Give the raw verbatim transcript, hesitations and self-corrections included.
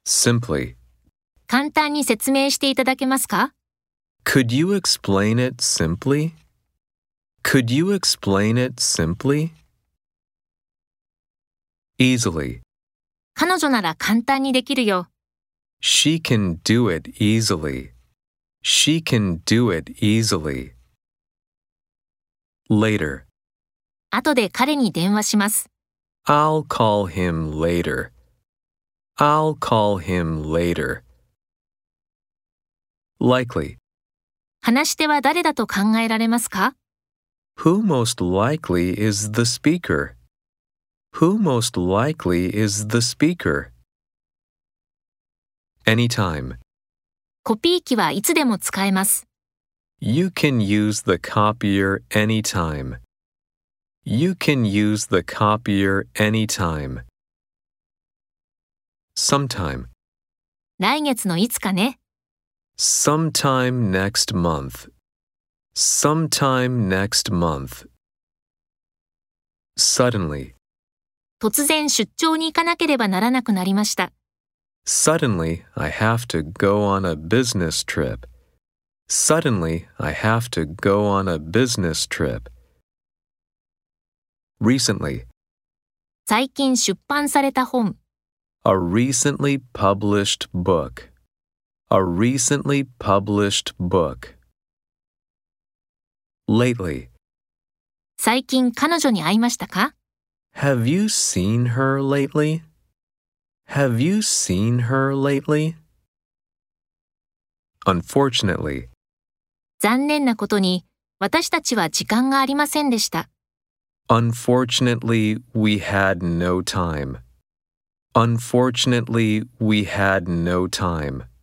Simply. 簡単に説明していただけますか？ Could you explain it simply? Could you explain it simply? Easily. 彼女なら簡単にできるよ。 She can do it easily. She can do it easily. Later. 後で彼に電話します。 I'll call him later. I'll call him later. Likely. 話し手は誰だと考えられますか？ Who most likely is the speaker? Who most likely is the speaker? Anytime. コピー機はいつでも使えます。 You can use the copier anytime. You can use the copier anytime. Sometime. 来月のいつかね。 Sometime next month. Sometime next month. Suddenly. 突然出張に行かなければならなくなりました。 Suddenly, I have to go on a business trip. Suddenly, I have to go on a business trip. Recently. 最近出版された本。 A recently published book. A recently published book. Lately. 最近彼女に会いましたか？ Have you seen her lately? Have you seen her lately? Unfortunately. 残念なことに、私たちは時間がありませんでした。 Unfortunately, we had no time. Unfortunately, we had no time.